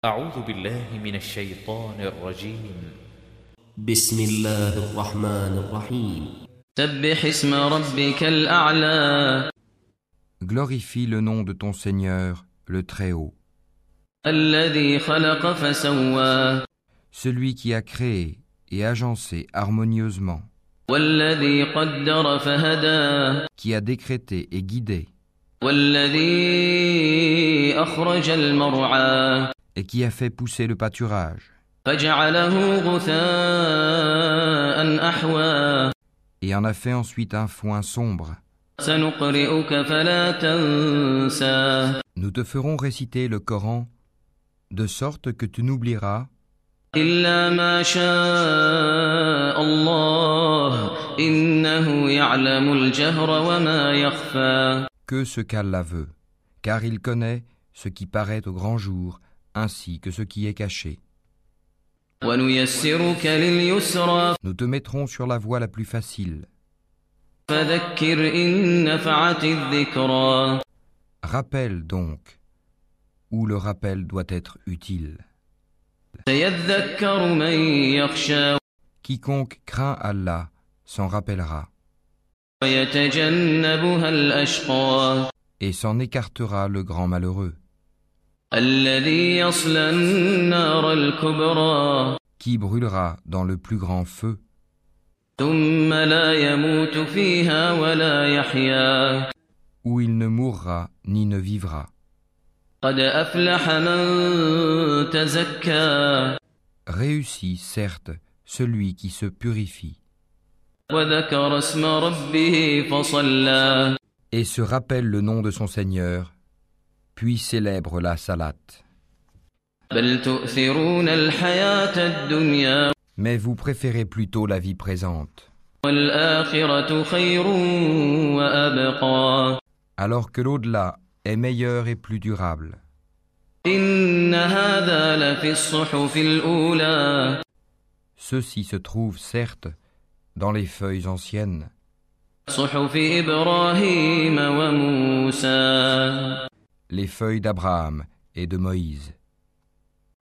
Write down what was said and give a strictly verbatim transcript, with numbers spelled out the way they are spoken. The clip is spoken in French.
أعوذ بالله من الشيطان الرجيم. بسم الله الرحمن الرحيم. سبح اسم ربك الأعلى. Glorifie le nom de ton Seigneur, le Très-Haut. الذي خلق فسوى. Celui qui a créé et agencé harmonieusement. والذي قدر فهدى. Qui a décrété et guidé. والذي أخرج المرعى. Et qui a fait pousser le pâturage. فجعله غثاء أحوى. Et en a fait ensuite un foin sombre. سنقرئك فلا تنسى. Nous te ferons réciter le Coran de sorte que tu n'oublieras إلا ما شاء الله إنه يعلم الجهر وما يخفى. que ce qu'Allah veut, car il connaît ce qui paraît au grand jour ainsi que ce qui est caché. ونيسرك لليسرى. Nous te mettrons sur la voie la plus facile. فذكر إن نفعت الذكرى. Rappelle donc, où le rappel doit être utile. سيذكر من يخشى. Quiconque craint Allah s'en rappellera ويتجنبها الأشقى. et s'en écartera le grand malheureux, الذي يصلى النار الكبرى. qui brûlera dans le plus grand feu, ثم لا يموت فيها ولا يحيا. où il ne mourra ni ne vivra. قد أفلح من تزكى. Réussit, certes, celui qui se purifie وذكر اسم ربه فصلى. et se rappelle le nom de son Seigneur, puis célèbre la salate. بل تؤثرون الحياة الدنيا. Mais vous préférez plutôt la vie présente, والآخرة خير وأبقى. alors que l'au-delà est meilleur et plus durable. إن هذا لفي الصحف الأولى. Ceci se trouve, certes, dans les feuilles anciennes, صحف إبراهيم وموسى. les feuilles d'Abraham et de Moïse.